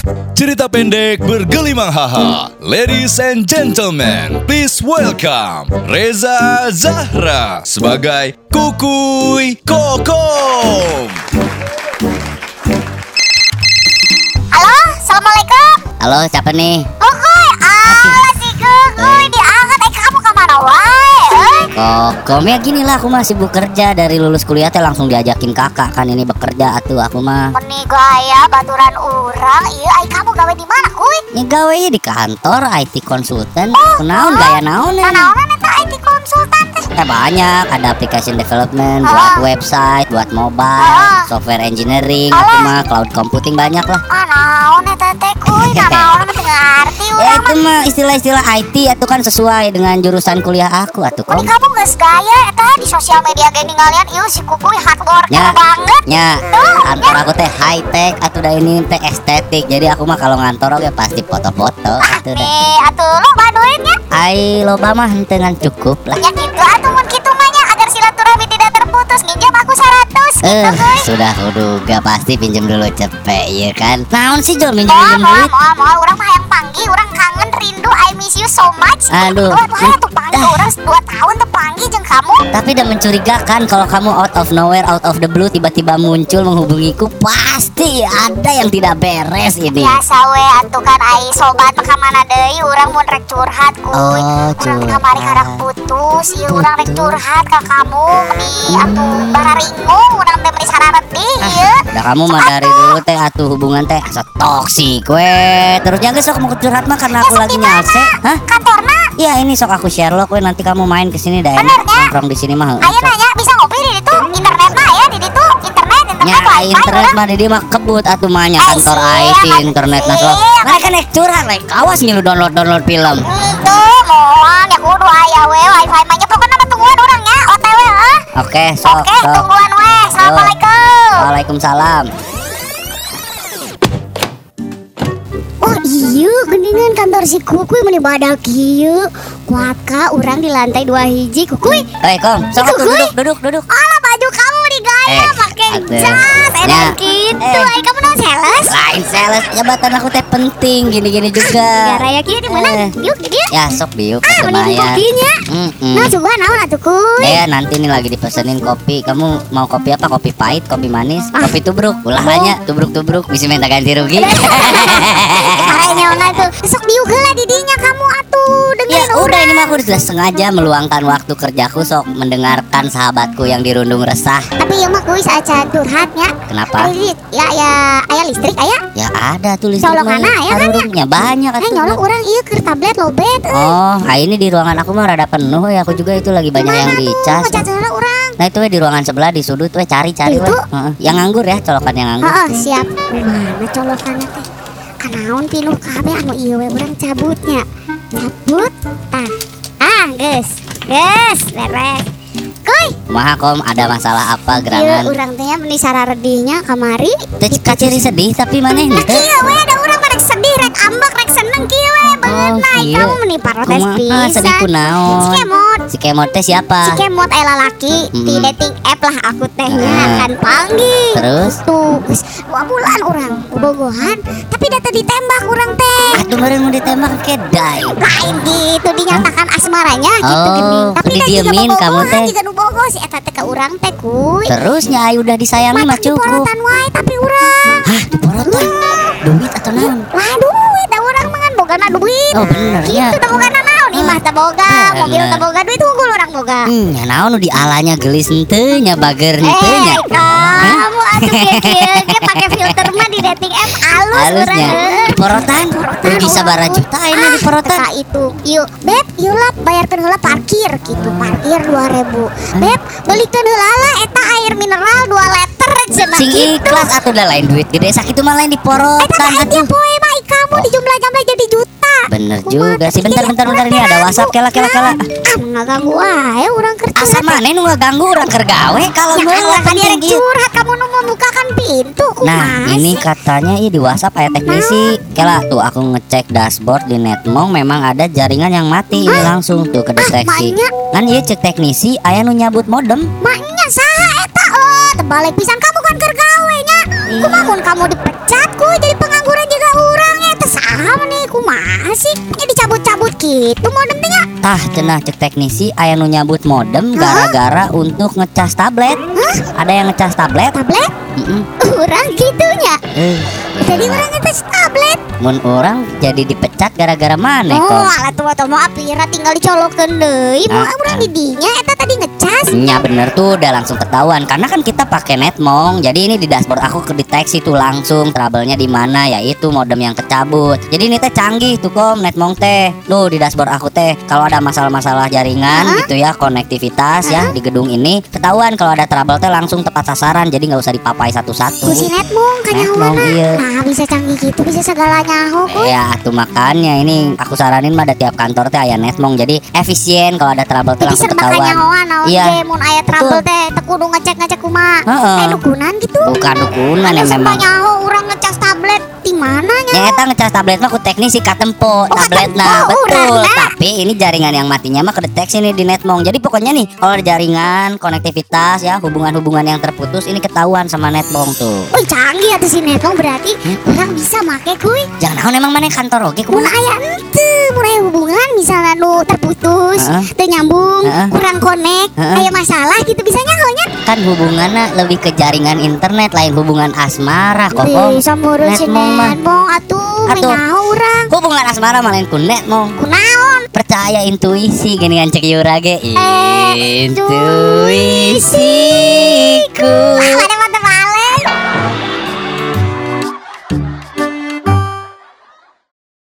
Cerita pendek bergelimang haha. Ladies and gentlemen, please welcome Reza Zahra sebagai Kukuy Kokom. Halo, assalamualaikum. Halo, siapa nih? Kukuy, alah si Kukuy diangkat. Kamu kemana wae? Kokom, ya gini lah, aku mah sibuk kerja. Dari lulus kuliah teh langsung diajakin kakak kan ini bekerja atuh aku mah. Meni gaya baturan urang. Iya, kamu gawe di mana, Kuy? Ya gawe di kantor IT konsultan. Kunaon gaya naon ya? Naon eta IT konsultan teh? Banyak, ada application development, buat website, buat mobile, software engineering, aku mah cloud computing banyak lah. Naon eta teh, Kuy? Naon teh ngarti Ya urang. itu mah istilah-istilah IT itu kan sesuai dengan jurusan kuliah aku atuh Meni Kom. kamu geus gaya eta di sosial media ge ningalian ieu si Kukuy hard worker banget. Ya, kantor aku teh high tech atau dah ini teh estetik. Jadi aku mah kalau ngantor oke pasti foto-foto atuh dah. Atuh lo baduinnya. Ai loba mah henteu ngan cukup lah. Ya gitu atuh mun kitu mah nya agar silaturahmi tidak terputus minjem aku 100 gitu Kuy. Sudah kuduga pasti pinjem dulu cepet ya kan. Naon sih Jol Moal minjem duit? urang mah hayang panggil, urang kangen rindu, I miss you so much. Aduh. Hayang tuh panggil urang 2 tahun teu panggil jeung kamu. Tapi udah mencurigakan kalau kamu out of nowhere, out of the blue tiba-tiba muncul menghubungiku, pasti ada yang tidak beres ini. Biasa we atuh kan ai sobat mah ka mana deui urang mun rek curhat Kuy. Oh, Urang curhat. kamari karang putus, ieu urang rek curhat ka kamu meni atuh bararingung urang teh meni sarareti ieu. Udah kamu mah dari dulu teh atuh hubungan teh asa toksik we. Terusnya geus sok mau curhat mah karena aku lagi nyalse. Hah? Kantorna Iya ini sok aku Sherlock we, nanti kamu main ke sini dah enak. Bener, ya? Nongkrong di sini mah. aya nanya bisa ngopi di ditu internetna aya di ditu internet Ya wifi internet urang. mah di dia mah kebut atuh mah nya kantor siap, IT internet nah sok. siap. Mereka nek curhat rek awas ngilu download film. Tuh moal ya kudu aya we wifi mah nya pokona mah tungguan urang nya OTW heuh. Oke, sok Oke, sok. tungguan we. Assalamualaikum. Waalaikumsalam. Oh iya, geningan kantor si Kukuy meni badak ieu. Kuatka urang di lantai 2 hiji Kukuy. Hei Kom, sok atuh Kukuy. duduk. Alah baju kamu digaya pakai atuh. jas enak Ya. gitu. Ai kamu non sales? Lain sales, jabatan aku teh penting gini-gini juga. Gara ya kieu di mana? Yuk dia. Ya sok biuk Ah, atuh mending maya. kopinya. Nah, coba naon atuh Kuy? Nanti nih lagi dipesenin kopi. Kamu mau kopi apa? Kopi pahit, kopi manis, kopi tubruk. Ulah Oh. hanya tubruk-tubruk bisa minta ganti rugi. Kayaknya ona tuh. Sok diuk heula di dinya kamu atuh Ya dengerin udah ini mah aku sudah sengaja meluangkan waktu kerjaku sok mendengarkan sahabatku yang dirundung resah. Tapi ya mah Kuy saat curhatnya. Kenapa? Ya aya listrik aya. Ya ada tuh listrik Colokana mah. ya kan ya? Harurungnya banyak atuh. Nyolok urang ieu keur tablet lobet. Oh, ini di ruangan aku mah rada penuh ya. Aku juga itu lagi banyak yang dicas. Ngecat heula urang. Nah itu we di ruangan sebelah di sudut we cari-cari we. Itu? Heeh. Yang nganggur ya, colokan yang nganggur. Heeh, siap. Mana colokanna teh? Kanaon pinuh kabeh anu ieu we urang cabutnya. Cabut. Geus. Geus, beres. Kuy, Kumaha Kom, ada masalah apa ieu gerangan? urang teh meni sararedinya kamari. Teh kaciri sedih tapi maneh Nah, teh. kieu we ada urang rek sedih, rek ambek, rek seneng kieu we. Beungeut naik kieu. kamu meni protes Kumaha sedih pisan. kunaon? Si Kemot. Si Kemot teh siapa? Si Kemot aya lalaki di dating app lah aku tehnya kan panggil. Terus? Tuh, geus 2 bulan urang bobogohan, tapi data ditembak urang teh. Aduh meureun mau ditembak ke dai. Lain gitu dinyatakan asmaranya gitu Oh, geuning. Tapi da juga didiemin kamu bobogohan teh. juga nu bogo si eta teh ka urang teh Kuy. Terusnya ayu udah disayangi mah Matak cukup. diporotan wae tapi urang. Hah, diporotan? Duit atau naon? Lah duit da urang mangan bogana duit. Oh bener ya. Gitu da bogana naon imah teh boga, mobil teh boga duit unggul urang boga. Ya naon nu di alanya gelis henteu nya bager henteu nya. Kamu atuh kieu ge pake filter mah di dating app alus urang. Halusnya diporotan rugi sabaraha juta ini diporotan. Teka itu. Yuk, Beb, yuk lah bayarkeun heula parkir gitu. Parkir 2.000. Beb, belikeun heula lah eta air mineral 2 liter cenah Sing gitu. ikhlas atuh da lain duit gede sakitu mah lain Eta diporotan teh atuh. poe mah kamu dijumlah-jumlah jadi juta. Bener juga sih. Bentar ini ada WhatsApp kela. Ah, ngaganggu wae urang keur Asa maneh nu ngaganggu urang keur gawe kalau Ya meulah Allah, tadi penting ada gitu. curhat kamu nu membukakan pintu Nah kumaha ini sih? katanya di WhatsApp aya teknisi. Kela tuh aku ngecek dashboard di Netmong memang ada jaringan yang mati ini langsung tuh kedeteksi. maknya. Kan ieu cek teknisi aya nu nyabut modem. Maknya saha eta tebalik pisan kamu kan keur gawe nya. Kumaha mun kamu dipecat kuy jadi pengangguran juga urang. Tah cenah cek teknisi aya nu nyabut modem gara-gara untuk ngecas tablet. Ada yang ngecas tablet? Tablet? Urang gitunya. Jadi orang ngecas tablet. Mun orang jadi dipecat gara-gara mana Oh, kok? alat tua mau apira tinggal dicolokeun deui. Mau urang di dinya eta tadi ngecas. Nya bener tuh udah langsung ketahuan karena kan kita pakai netmong. Jadi ini di dashboard aku kedeteksi tuh langsung trouble-nya di mana, yaitu modem yang kecabut. Jadi ini teh canggih tuh kom netmong teh. Tuh di dashboard aku teh kalau ada masalah-masalah jaringan gitu ya, konektivitas ya di gedung ini ketahuan. Kalau ada trouble teh langsung tepat sasaran. Jadi nggak usah dipapai satu-satu. Ku si netmong Netmong, kanyahoana. iya. Nah, bisa canggih gitu, bisa segala nyaho kuy. Ya atuh makanya ini aku saranin mah ada tiap kantor teh aya netmong. Jadi efisien kalau ada trouble teh Jadi langsung serba ketahuan. kanyahoan naon Iya. ge mun aya trouble teh teu kudu ngecek kumaha. Heeh. Dukunan gitu. Bukan dukunan ya Serba memang. nyaho urang ngecas tablet di mana nya? Ya eta ngecas tablet mah ku teknisi katempo tabletna katempo, betul. urangna. Tapi ini jaringan yang matinya mah kedeteksi nih di netmong. Jadi pokoknya nih kalau ada jaringan, konektivitas ya, hubungan-hubungan yang terputus ini ketahuan sama netmong tuh. Wih canggih atuh si netmong berarti urang bisa make kuy. Jangan naon emang mana kantor oge Mun kumaha? aya henteu, mun aya hubungan misalnya nu terputus, teu nyambung, kurang konek, aya masalah gitu bisa nyahonya. Kan hubungannya lebih ke jaringan internet lain hubungan asmara kok. Kom. Bisa meureun si Netmong mah. netmong atuh, Atuh. nyaho urang. Hubungan asmara malah ku netmong. Kunaon? Percaya intuisi gini kan cek Yura ge. Intuisiku. Intuisiku.